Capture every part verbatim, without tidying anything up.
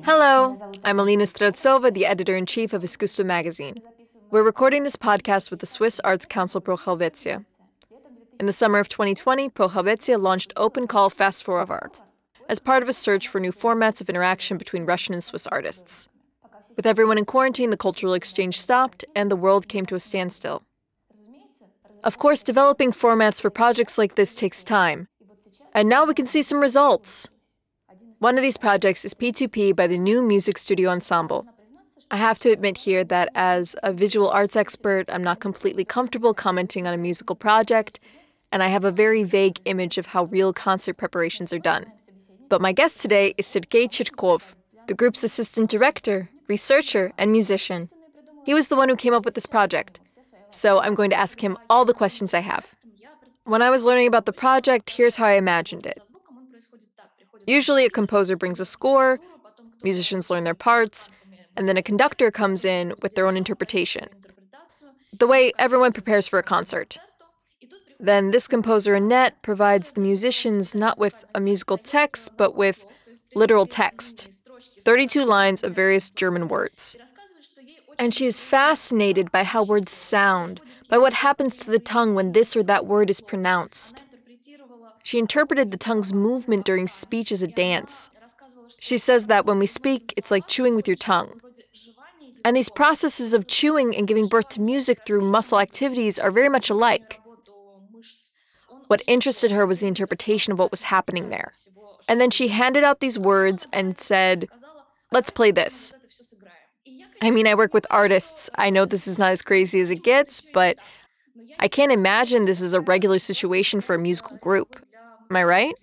Hello, I'm Alina Streltsova, the editor-in-chief of Iskustvo magazine. We're recording this podcast with the Swiss Arts Council Pro Helvetia. In the summer of twenty twenty, Pro Helvetia launched Open Call Fast Forward as part of a search for new formats of interaction between Russian and Swiss artists. With everyone in quarantine, the cultural exchange stopped, and the world came to a standstill. Of course, developing formats for projects like this takes time, and now we can see some results. One of these projects is P two P by the New Music Studio Ensemble. I have to admit here that as a visual arts expert, I'm not completely comfortable commenting on a musical project, and I have a very vague image of how real concert preparations are done. But my guest today is Sergei Chirkov, the group's assistant director, researcher, and musician. He was the one who came up with this project, so I'm going to ask him all the questions I have. When I was learning about the project, here's how I imagined it. Usually a composer brings a score, musicians learn their parts, and then a conductor comes in with their own interpretation. The way everyone prepares for a concert. Then this composer Annette provides the musicians not with a musical text, but with literal text, thirty-two lines of various German words. And she is fascinated by how words sound, by what happens to the tongue when this or that word is pronounced. She interpreted the tongue's movement during speech as a dance. She says that when we speak, it's like chewing with your tongue. And these processes of chewing and giving birth to music through muscle activities are very much alike. What interested her was the interpretation of what was happening there. And then she handed out these words and said, "Let's play this." I mean, I work with artists. I know this is not as crazy as it gets, but I can't imagine this is a regular situation for a musical group. Am I right?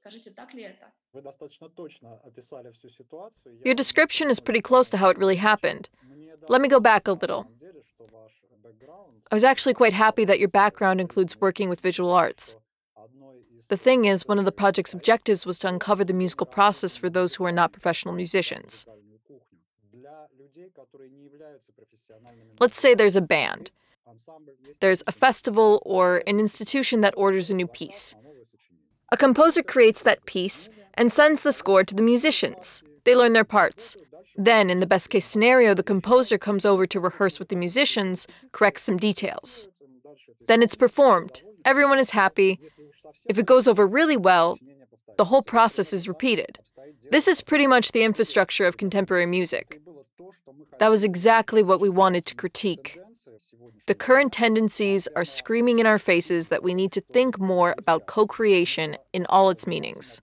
Your description is pretty close to how it really happened. Let me go back a little. I was actually quite happy that your background includes working with visual arts. The thing is, one of the project's objectives was to uncover the musical process for those who are not professional musicians. Let's say there's a band. There's a festival or an institution that orders a new piece. A composer creates that piece and sends the score to the musicians. They learn their parts. Then, in the best-case scenario, the composer comes over to rehearse with the musicians, corrects some details. Then it's performed. Everyone is happy. If it goes over really well, the whole process is repeated. This is pretty much the infrastructure of contemporary music. That was exactly what we wanted to critique. The current tendencies are screaming in our faces that we need to think more about co-creation in all its meanings.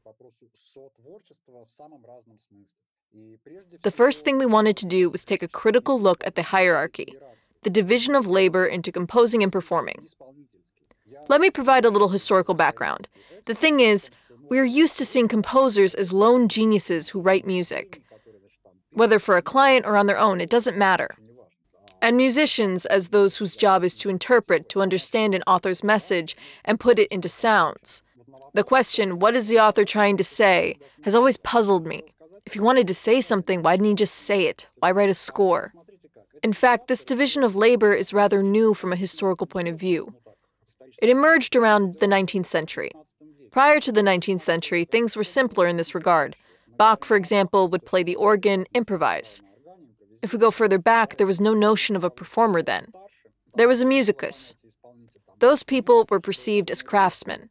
The first thing we wanted to do was take a critical look at the hierarchy, the division of labor into composing and performing. Let me provide a little historical background. The thing is, we are used to seeing composers as lone geniuses who write music. Whether for a client or on their own, it doesn't matter. And musicians as those whose job is to interpret, to understand an author's message, and put it into sounds. The question, what is the author trying to say, has always puzzled me. If he wanted to say something, why didn't he just say it? Why write a score? In fact, this division of labor is rather new from a historical point of view. It emerged around the nineteenth century. Prior to the nineteenth century, things were simpler in this regard. Bach, for example, would play the organ, improvise. If we go further back, there was no notion of a performer then. There was a musicus. Those people were perceived as craftsmen.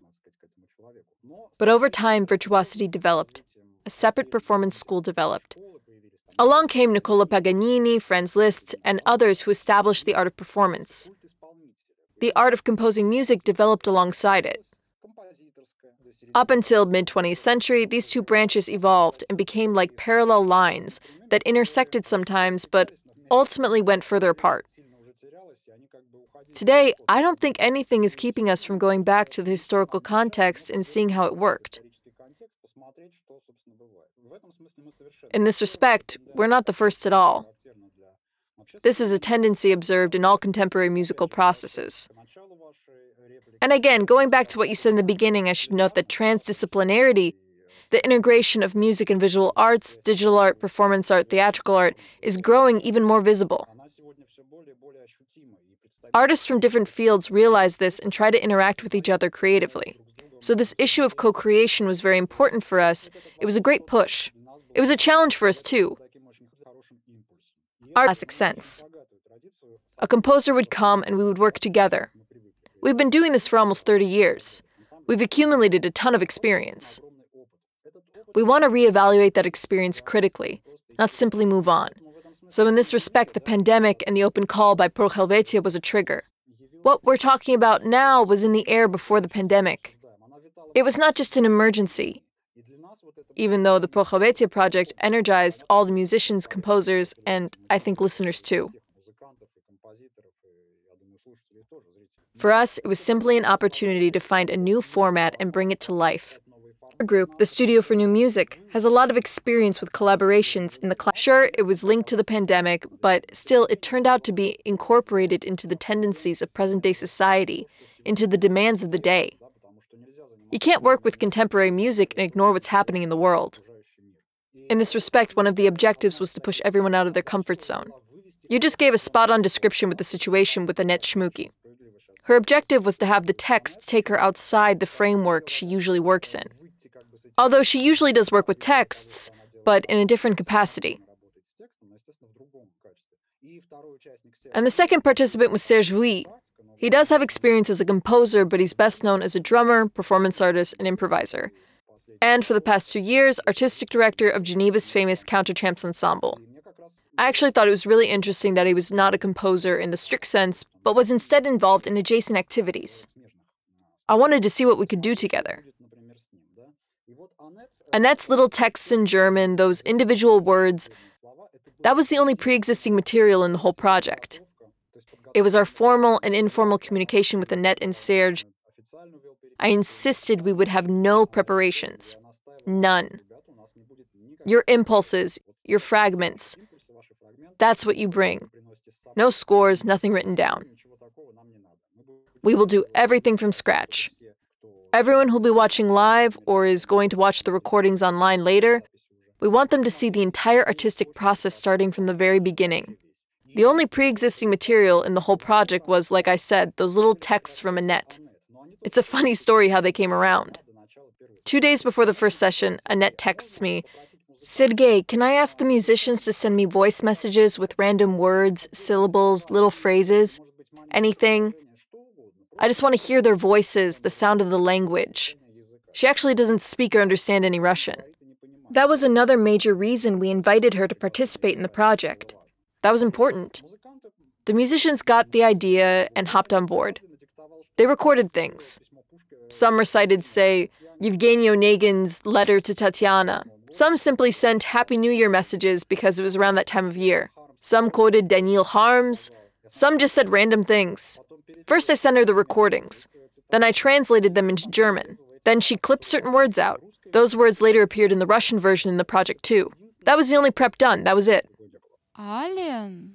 But over time, virtuosity developed. A separate performance school developed. Along came Niccolo Paganini, Franz Liszt, and others who established the art of performance. The art of composing music developed alongside it. Up until mid-twentieth century, these two branches evolved and became like parallel lines that intersected sometimes, but ultimately went further apart. Today, I don't think anything is keeping us from going back to the historical context and seeing how it worked. In this respect, we're not the first at all. This is a tendency observed in all contemporary musical processes. And again, going back to what you said in the beginning, I should note that transdisciplinarity, the integration of music and visual arts, digital art, performance art, theatrical art, is growing even more visible. Artists from different fields realize this and try to interact with each other creatively. So this issue of co-creation was very important for us. It was a great push. It was a challenge for us too. Our classic sense. A composer would come and we would work together. We've been doing this for almost thirty years. We've accumulated a ton of experience. We want to reevaluate that experience critically, not simply move on. So in this respect, the pandemic and the open call by Pro Helvetia was a trigger. What we're talking about now was in the air before the pandemic. It was not just an emergency. Even though the Pro Helvetia project energized all the musicians, composers, and I think listeners too. For us, it was simply an opportunity to find a new format and bring it to life. Our group, the Studio for New Music, has a lot of experience with collaborations in the class. Sure, it was linked to the pandemic, but still it turned out to be incorporated into the tendencies of present-day society, into the demands of the day. You can't work with contemporary music and ignore what's happening in the world. In this respect, one of the objectives was to push everyone out of their comfort zone. You just gave a spot-on description with the situation with Annette Schmucki. Her objective was to have the text take her outside the framework she usually works in. Although she usually does work with texts, but in a different capacity. And the second participant was Serge Vuilly. He does have experience as a composer, but he's best known as a drummer, performance artist, and improviser. And for the past two years, artistic director of Geneva's famous Counterchamps Ensemble. I actually thought it was really interesting that he was not a composer in the strict sense, but was instead involved in adjacent activities. I wanted to see what we could do together. Annette's little texts in German, those individual words, that was the only pre-existing material in the whole project. It was our formal and informal communication with Annette and Serge. I insisted we would have no preparations. None. Your impulses, your fragments. That's what you bring. No scores, nothing written down. We will do everything from scratch. Everyone who'll be watching live or is going to watch the recordings online later, we want them to see the entire artistic process starting from the very beginning. The only pre-existing material in the whole project was, like I said, those little texts from Annette. It's a funny story how they came around. Two days before the first session, Annette texts me, "Sergei, can I ask the musicians to send me voice messages with random words, syllables, little phrases? Anything? I just want to hear their voices, the sound of the language." She actually doesn't speak or understand any Russian. That was another major reason we invited her to participate in the project. That was important. The musicians got the idea and hopped on board. They recorded things. Some recited, say, Yevgeny Onegin's Letter to Tatiana. Some simply sent Happy New Year messages because it was around that time of year. Some quoted Daniil Harms. Some just said random things. First I sent her the recordings. Then I translated them into German. Then she clipped certain words out. Those words later appeared in the Russian version in the project too. That was the only prep done. That was it. Allen.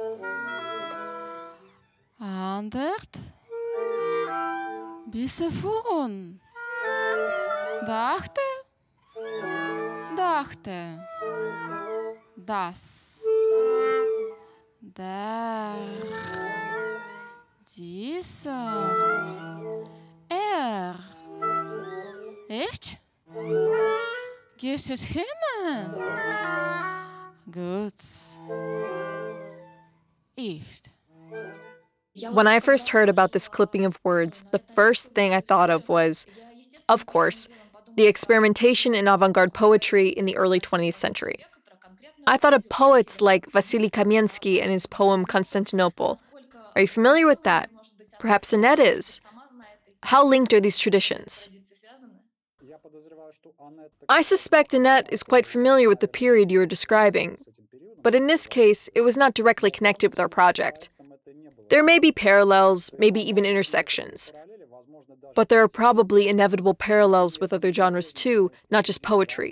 Andert. Bisefun. Dachte. Dachte. Das. Der. Dieser. Er. Echt? Gehst du hin? Gut. Echt. When I first heard about this clipping of words, the first thing I thought of was, of course, the experimentation in avant-garde poetry in the early twentieth century. I thought of poets like Vasily Kamensky and his poem Constantinople. Are you familiar with that? Perhaps Annette is. How linked are these traditions? I suspect Annette is quite familiar with the period you are describing, but in this case, it was not directly connected with our project. There may be parallels, maybe even intersections. But there are probably inevitable parallels with other genres too, not just poetry.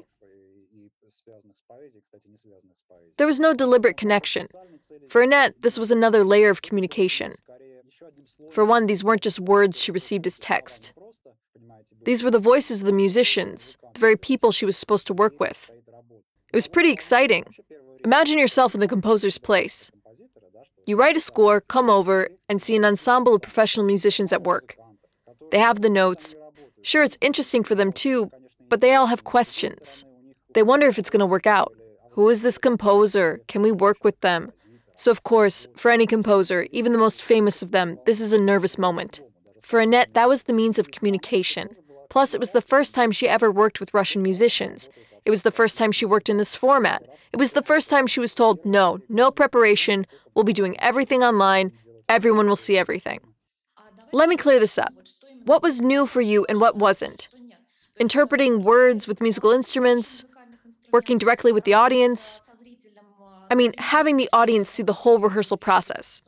There was no deliberate connection. For Annette, this was another layer of communication. For one, these weren't just words she received as text. These were the voices of the musicians, the very people she was supposed to work with. It was pretty exciting. Imagine yourself in the composer's place. You write a score, come over, and see an ensemble of professional musicians at work. They have the notes. Sure, it's interesting for them too, but they all have questions. They wonder if it's going to work out. Who is this composer? Can we work with them? So of course, for any composer, even the most famous of them, this is a nervous moment. For Annette, that was the means of communication. Plus, it was the first time she ever worked with Russian musicians. It was the first time she worked in this format. It was the first time she was told, no, no preparation, we'll be doing everything online, everyone will see everything. Let me clear this up. What was new for you and what wasn't? Interpreting words with musical instruments, working directly with the audience. I mean, having the audience see the whole rehearsal process.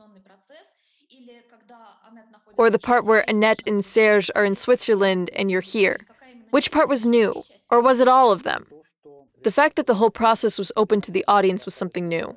Or the part where Annette and Serge are in Switzerland and you're here. Which part was new? Or was it all of them? The fact that the whole process was open to the audience was something new.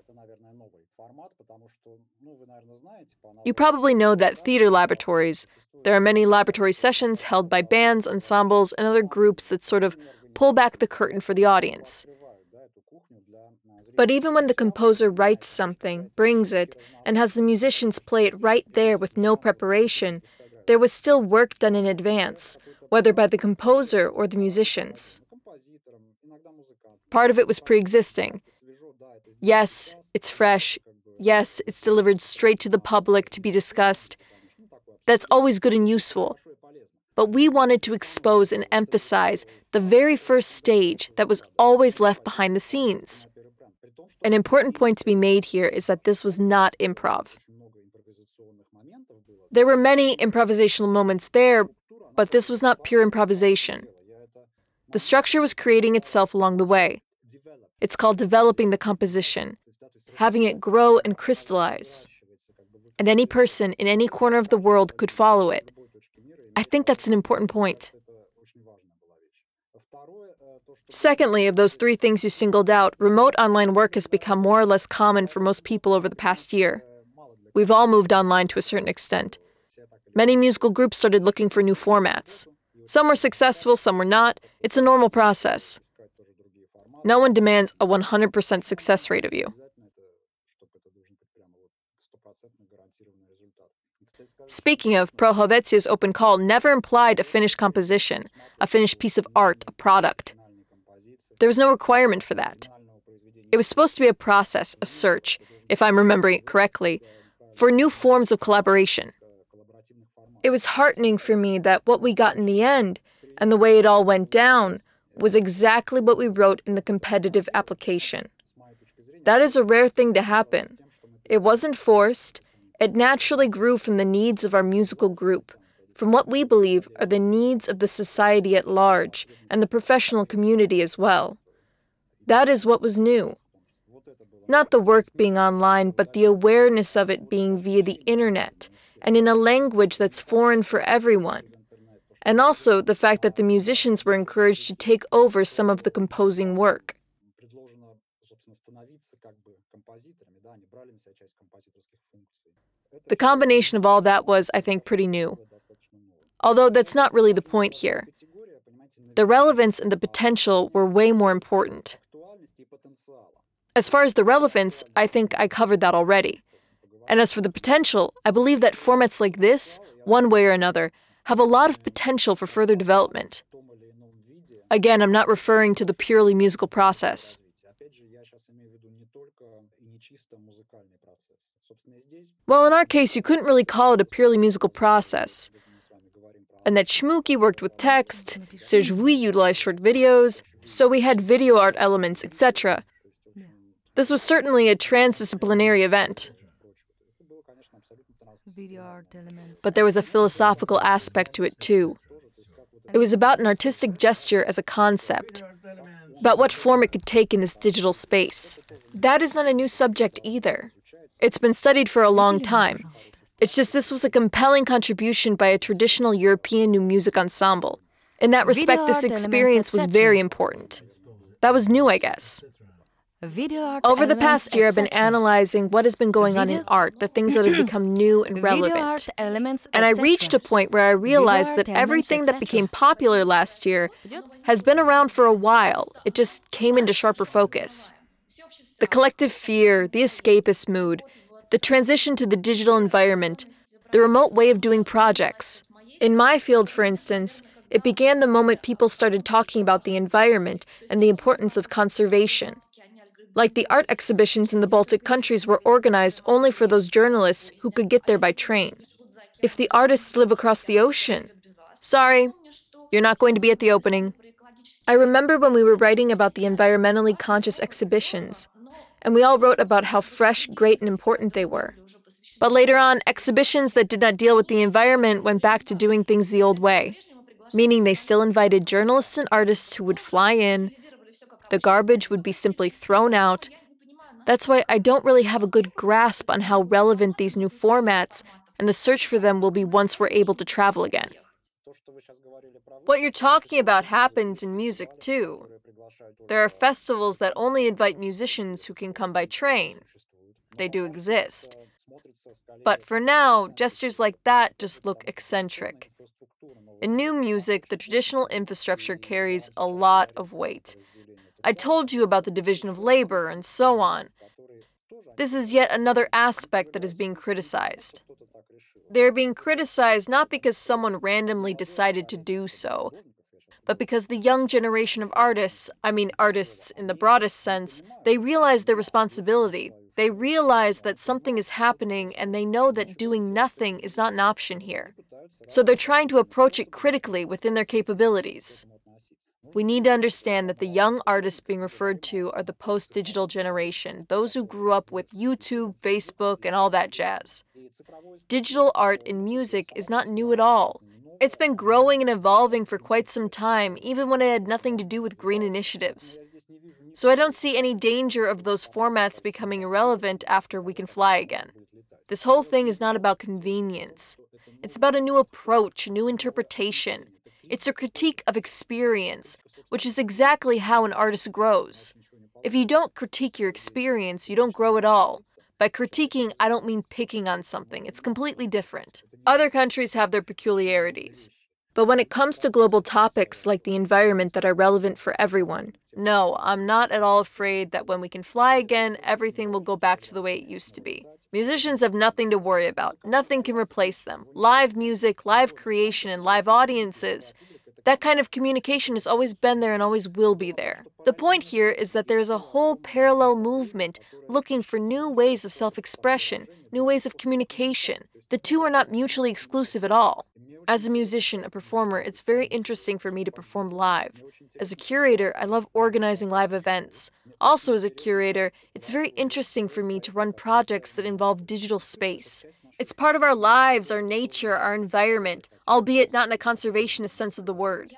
You probably know that theater laboratories, there are many laboratory sessions held by bands, ensembles, and other groups that sort of pull back the curtain for the audience. But even when the composer writes something, brings it, and has the musicians play it right there with no preparation, there was still work done in advance, whether by the composer or the musicians. Part of it was pre-existing. Yes, it's fresh. Yes, it's delivered straight to the public to be discussed. That's always good and useful. But we wanted to expose and emphasize the very first stage that was always left behind the scenes. An important point to be made here is that this was not improv. There were many improvisational moments there, but this was not pure improvisation. The structure was creating itself along the way. It's called developing the composition, having it grow and crystallize. And any person in any corner of the world could follow it. I think that's an important point. Secondly, of those three things you singled out, remote online work has become more or less common for most people over the past year. We've all moved online to a certain extent. Many musical groups started looking for new formats. Some were successful, some were not. It's a normal process. No one demands a one hundred percent success rate of you. Speaking of, Pro Helvetia's open call never implied a finished composition, a finished piece of art, a product. There was no requirement for that. It was supposed to be a process, a search, if I'm remembering it correctly, for new forms of collaboration. It was heartening for me that what we got in the end, and the way it all went down, was exactly what we wrote in the competitive application. That is a rare thing to happen. It wasn't forced. It naturally grew from the needs of our musical group, from what we believe are the needs of the society at large and the professional community as well. That is what was new. Not the work being online, but the awareness of it being via the internet and in a language that's foreign for everyone. And also the fact that the musicians were encouraged to take over some of the composing work. The combination of all that was, I think, pretty new. Although that's not really the point here. The relevance and the potential were way more important. As far as the relevance, I think I covered that already. And as for the potential, I believe that formats like this, one way or another, have a lot of potential for further development. Again, I'm not referring to the purely musical process. Well, in our case, you couldn't really call it a purely musical process. Annette Schmucki worked with text, Serge Vuy utilized short videos, so we had video art elements, et cetera. This was certainly a transdisciplinary event. But there was a philosophical aspect to it too. It was about an artistic gesture as a concept, about what form it could take in this digital space. That is not a new subject either. It's been studied for a long time. It's just this was a compelling contribution by a traditional European new music ensemble. In that respect, this experience was very important. That was new, I guess. Over the past year, I've been analyzing what has been going on in art, the things that have become new and relevant. And I reached a point where I realized that everything that became popular last year has been around for a while. It just came into sharper focus. The collective fear, the escapist mood, the transition to the digital environment, the remote way of doing projects. In my field, for instance, It began the moment people started talking about the environment and the importance of conservation. Like the art exhibitions in the Baltic countries were organized only for those journalists who could get there by train. If the artists live across the ocean, sorry, you're not going to be at the opening. I remember when we were writing about the environmentally conscious exhibitions, and we all wrote about how fresh, great, and important they were. But later on, exhibitions that did not deal with the environment went back to doing things the old way, meaning they still invited journalists and artists who would fly in. The garbage would be simply thrown out. That's why I don't really have a good grasp on how relevant these new formats and the search for them will be once we're able to travel again. What you're talking about happens in music, too. There are festivals that only invite musicians who can come by train. They do exist. But for now, gestures like that just look eccentric. In new music, the traditional infrastructure carries a lot of weight. I told you about the division of labor and so on. This is yet another aspect that is being criticized. They're being criticized not because someone randomly decided to do so, but because the young generation of artists, I mean artists in the broadest sense, they realize their responsibility. They realize that something is happening and they know that doing nothing is not an option here. So they're trying to approach it critically within their capabilities. We need to understand that the young artists being referred to are the post-digital generation, those who grew up with YouTube, Facebook, and all that jazz. Digital art in music is not new at all. It's been growing and evolving for quite some time, even when it had nothing to do with green initiatives. So I don't see any danger of those formats becoming irrelevant after we can fly again. This whole thing is not about convenience. It's about a new approach, a new interpretation. It's a critique of experience, which is exactly how an artist grows. If you don't critique your experience, you don't grow at all. By critiquing, I don't mean picking on something. It's completely different. Other countries have their peculiarities. But when it comes to global topics like the environment that are relevant for everyone, no, I'm not at all afraid that when we can fly again, everything will go back to the way it used to be. Musicians have nothing to worry about. Nothing can replace them. Live music, live creation, and live audiences. That kind of communication has always been there and always will be there. The point here is that there is a whole parallel movement looking for new ways of self-expression, new ways of communication. The two are not mutually exclusive at all. As a musician, a performer, it's very interesting for me to perform live. As a curator, I love organizing live events. Also, as a curator, it's very interesting for me to run projects that involve digital space. It's part of our lives, our nature, our environment, albeit not in a conservationist sense of the word.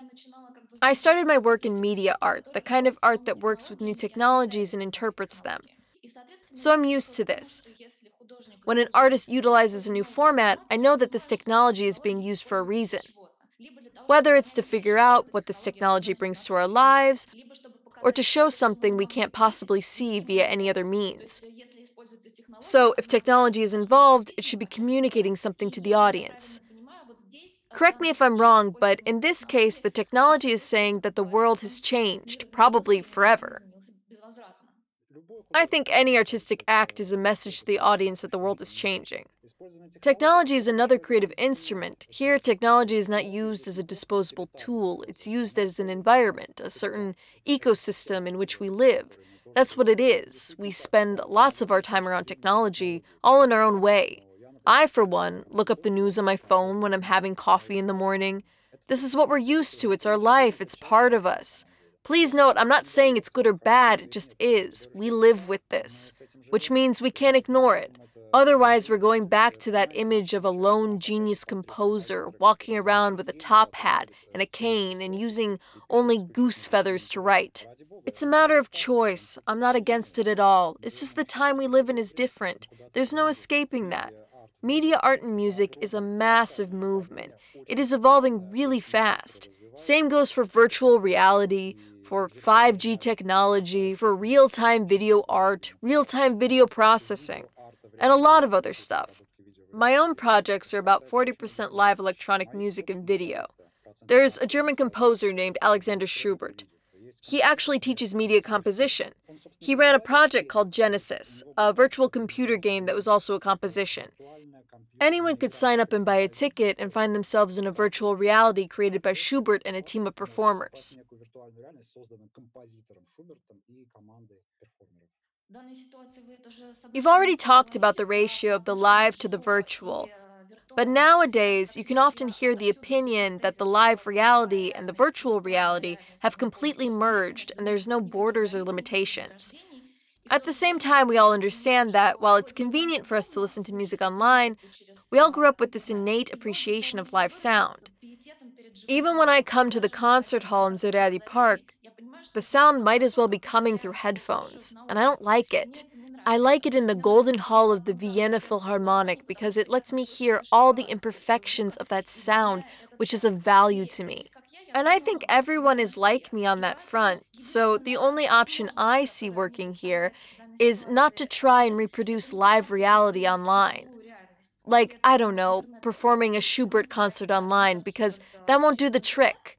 I started my work in media art, the kind of art that works with new technologies and interprets them. So I'm used to this. When an artist utilizes a new format, I know that this technology is being used for a reason. Whether it's to figure out what this technology brings to our lives, or to show something we can't possibly see via any other means. So, if technology is involved, it should be communicating something to the audience. Correct me if I'm wrong, but in this case, the technology is saying that the world has changed, probably forever. I think any artistic act is a message to the audience that the world is changing. Technology is another creative instrument. Here, technology is not used as a disposable tool. It's used as an environment, a certain ecosystem in which we live. That's what it is. We spend lots of our time around technology, all in our own way. I, for one, look up the news on my phone when I'm having coffee in the morning. This is what we're used to. It's our life. It's part of us. Please note, I'm not saying it's good or bad, it just is. We live with this, which means we can't ignore it. Otherwise, we're going back to that image of a lone genius composer walking around with a top hat and a cane and using only goose feathers to write. It's a matter of choice. I'm not against it at all. It's just the time we live in is different. There's no escaping that. Media art and music is a massive movement. It is evolving really fast. Same goes for virtual reality, for five G technology, for real-time video art, real-time video processing, and a lot of other stuff. My own projects are about forty percent live electronic music and video. There's a German composer named Alexander Schubert. He actually teaches media composition. He ran a project called Genesis, a virtual computer game that was also a composition. Anyone could sign up and buy a ticket and find themselves in a virtual reality created by Schubert and a team of performers. You've already talked about the ratio of the live to the virtual, but nowadays you can often hear the opinion that the live reality and the virtual reality have completely merged and there's no borders or limitations. At the same time, we all understand that while it's convenient for us to listen to music online, we all grew up with this innate appreciation of live sound. Even when I come to the concert hall in Zaryadye Park, the sound might as well be coming through headphones, and I don't like it. I like it in the Golden Hall of the Vienna Philharmonic because it lets me hear all the imperfections of that sound, which is of value to me. And I think everyone is like me on that front, so the only option I see working here is not to try and reproduce live reality online. Like, I don't know, performing a Schubert concert online, because that won't do the trick.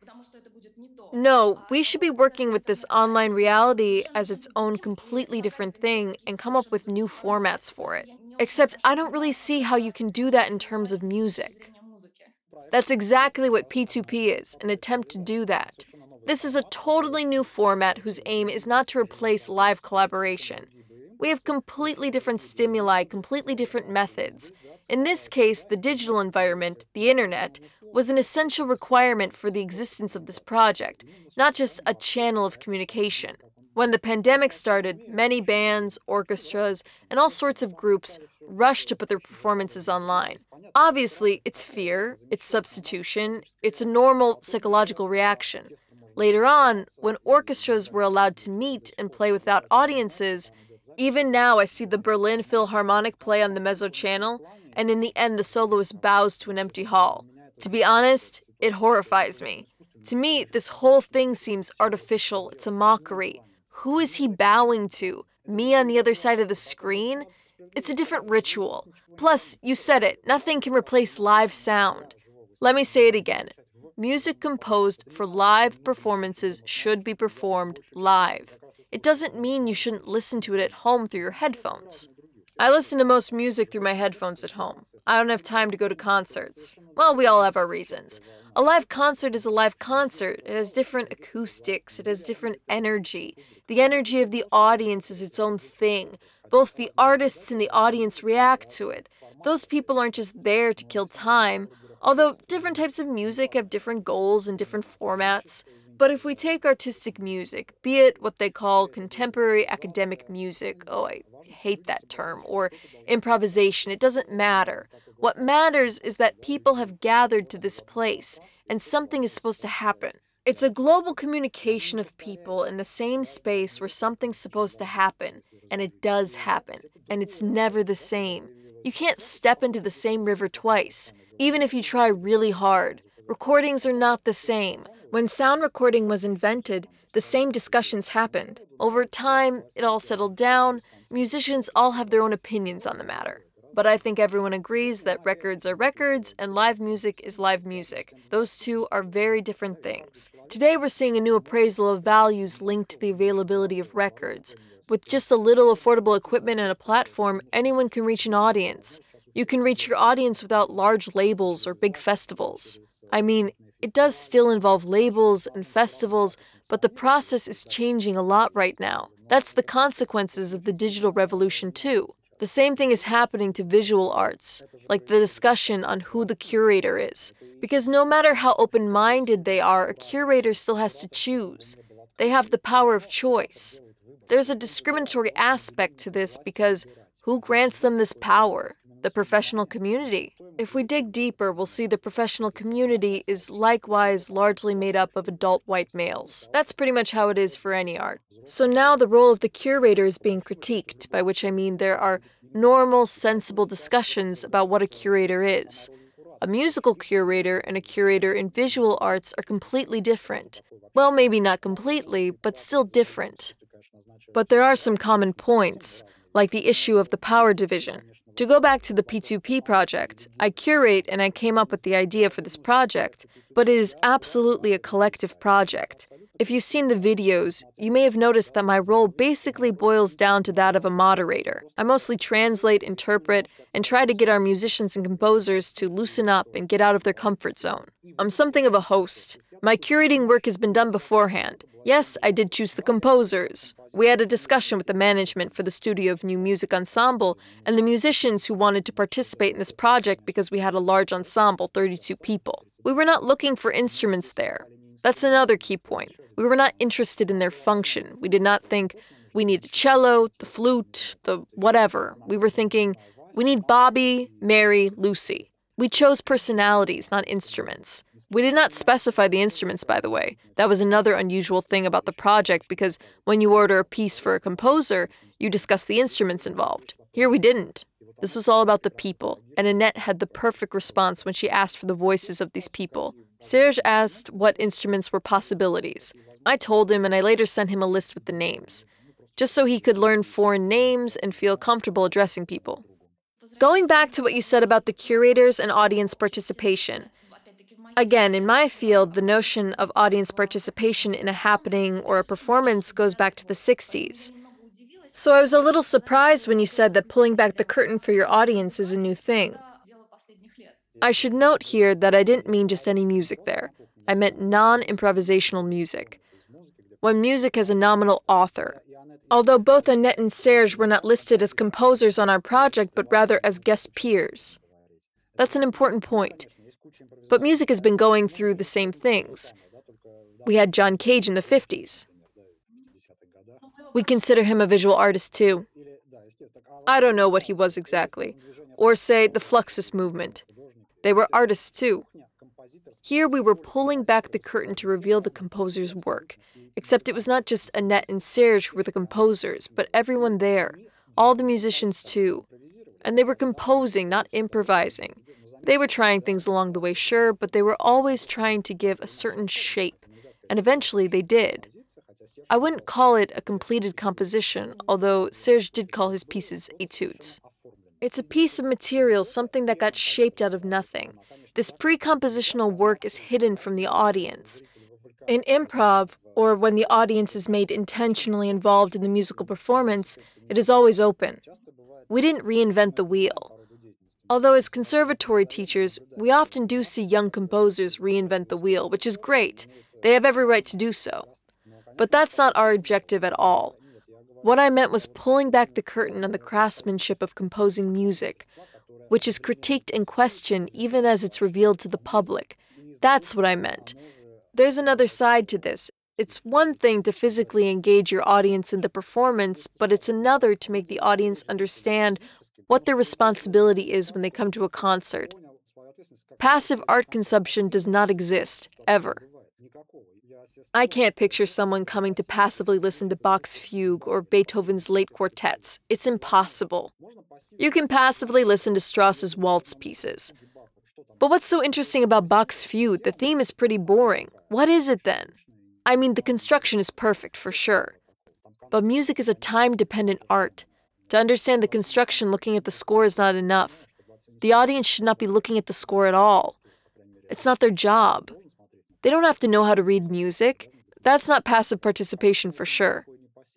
No, we should be working with this online reality as its own completely different thing and come up with new formats for it. Except I don't really see how you can do that in terms of music. That's exactly what P two P is, an attempt to do that. This is a totally new format whose aim is not to replace live collaboration. We have completely different stimuli, completely different methods. In this case, the digital environment, the internet, was an essential requirement for the existence of this project, not just a channel of communication. When the pandemic started, many bands, orchestras, and all sorts of groups rushed to put their performances online. Obviously, it's fear, it's substitution, it's a normal psychological reaction. Later on, when orchestras were allowed to meet and play without audiences, even now I see the Berlin Philharmonic play on the mezzo channel, and in the end the soloist bows to an empty hall. To be honest, it horrifies me. To me, this whole thing seems artificial, it's a mockery. Who is he bowing to? Me on the other side of the screen? It's a different ritual. Plus, you said it, nothing can replace live sound. Let me say it again. Music composed for live performances should be performed live. It doesn't mean you shouldn't listen to it at home through your headphones. I listen to most music through my headphones at home. I don't have time to go to concerts. Well, we all have our reasons. A live concert is a live concert. It has different acoustics. It has different energy. The energy of the audience is its own thing. Both the artists and the audience react to it. Those people aren't just there to kill time, although different types of music have different goals and different formats. But if we take artistic music, be it what they call contemporary academic music, oh, I hate that term, or improvisation, it doesn't matter. What matters is that people have gathered to this place, and something is supposed to happen. It's a global communication of people in the same space where something's supposed to happen, and it does happen, and it's never the same. You can't step into the same river twice, even if you try really hard. Recordings are not the same. When sound recording was invented, the same discussions happened. Over time, it all settled down. Musicians all have their own opinions on the matter. But I think everyone agrees that records are records and live music is live music. Those two are very different things. Today we're seeing a new appraisal of values linked to the availability of records. With just a little affordable equipment and a platform, anyone can reach an audience. You can reach your audience without large labels or big festivals. I mean, it does still involve labels and festivals, but the process is changing a lot right now. That's the consequences of the digital revolution too. The same thing is happening to visual arts, like the discussion on who the curator is. Because no matter how open-minded they are, a curator still has to choose. They have the power of choice. There's a discriminatory aspect to this because who grants them this power? The professional community. If we dig deeper, we'll see the professional community is likewise largely made up of adult white males. That's pretty much how it is for any art. So now the role of the curator is being critiqued, by which I mean there are normal, sensible discussions about what a curator is. A musical curator and a curator in visual arts are completely different. Well, maybe not completely, but still different. But there are some common points, like the issue of the power division. To go back to the P two P project, I curate and I came up with the idea for this project, but it is absolutely a collective project. If you've seen the videos, you may have noticed that my role basically boils down to that of a moderator. I mostly translate, interpret, and try to get our musicians and composers to loosen up and get out of their comfort zone. I'm something of a host. My curating work has been done beforehand. Yes, I did choose the composers. We had a discussion with the management for the Studio of New Music Ensemble and the musicians who wanted to participate in this project because we had a large ensemble, thirty-two people. We were not looking for instruments there. That's another key point. We were not interested in their function. We did not think, we need a cello, the flute, the whatever. We were thinking, we need Bobby, Mary, Lucy. We chose personalities, not instruments. We did not specify the instruments, by the way. That was another unusual thing about the project because when you order a piece for a composer, you discuss the instruments involved. Here we didn't. This was all about the people, and Annette had the perfect response when she asked for the voices of these people. Serge asked what instruments were possibilities. I told him, and I later sent him a list with the names, just so he could learn foreign names and feel comfortable addressing people. Going back to what you said about the curators and audience participation, again, in my field, the notion of audience participation in a happening or a performance goes back to the sixties. So I was a little surprised when you said that pulling back the curtain for your audience is a new thing. I should note here that I didn't mean just any music there. I meant non-improvisational music. When music has a nominal author. Although both Annette and Serge were not listed as composers on our project, but rather as guest peers. That's an important point. But music has been going through the same things. We had John Cage in the fifties. We consider him a visual artist too. I don't know what he was exactly. Or say the Fluxus movement. They were artists too. Here we were pulling back the curtain to reveal the composer's work, except it was not just Annette and Serge who were the composers, but everyone there, all the musicians too. And they were composing, not improvising. They were trying things along the way, sure, but they were always trying to give a certain shape, and eventually they did. I wouldn't call it a completed composition, although Serge did call his pieces etudes. It's a piece of material, something that got shaped out of nothing. This pre-compositional work is hidden from the audience. In improv, or when the audience is made intentionally involved in the musical performance, it is always open. We didn't reinvent the wheel. Although as conservatory teachers, we often do see young composers reinvent the wheel, which is great. They have every right to do so. But that's not our objective at all. What I meant was pulling back the curtain on the craftsmanship of composing music, which is critiqued and questioned even as it's revealed to the public. That's what I meant. There's another side to this. It's one thing to physically engage your audience in the performance, but it's another to make the audience understand what their responsibility is when they come to a concert. Passive art consumption does not exist, ever. I can't picture someone coming to passively listen to Bach's fugue or Beethoven's late quartets. It's impossible. You can passively listen to Strauss's waltz pieces. But what's so interesting about Bach's fugue? The theme is pretty boring. What is it then? I mean, the construction is perfect for sure. But music is a time-dependent art. To understand the construction, looking at the score is not enough. The audience should not be looking at the score at all. It's not their job. They don't have to know how to read music. That's not passive participation for sure.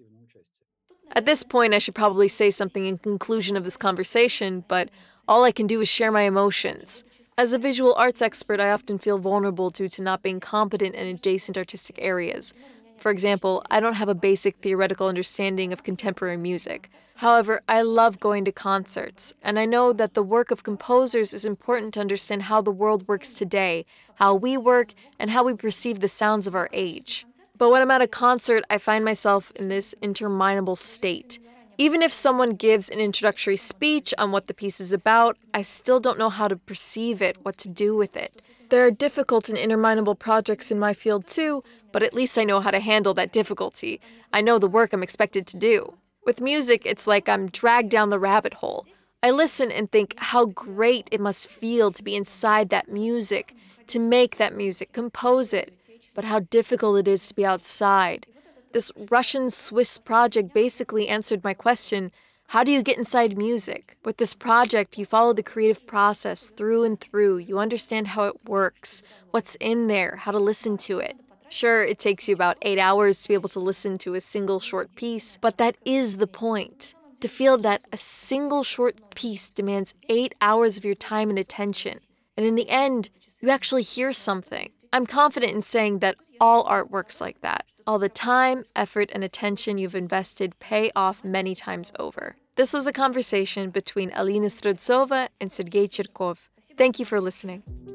At this point, I should probably say something in conclusion of this conversation, but all I can do is share my emotions. As a visual arts expert, I often feel vulnerable due to not being competent in adjacent artistic areas. For example, I don't have a basic theoretical understanding of contemporary music. However, I love going to concerts, and I know that the work of composers is important to understand how the world works today, how we work, and how we perceive the sounds of our age. But when I'm at a concert, I find myself in this interminable state. Even if someone gives an introductory speech on what the piece is about, I still don't know how to perceive it, what to do with it. There are difficult and interminable projects in my field too, but at least I know how to handle that difficulty. I know the work I'm expected to do. With music, it's like I'm dragged down the rabbit hole. I listen and think how great it must feel to be inside that music, to make that music, compose it, but how difficult it is to be outside. This Russian-Swiss project basically answered my question, how do you get inside music? With this project, you follow the creative process through and through. You understand how it works, what's in there, how to listen to it. Sure, it takes you about eight hours to be able to listen to a single short piece, but that is the point. To feel that a single short piece demands eight hours of your time and attention, and in the end, you actually hear something. I'm confident in saying that all art works like that. All the time, effort, and attention you've invested pay off many times over. This was a conversation between Alina Streltsova and Sergei Cherkov. Thank you for listening.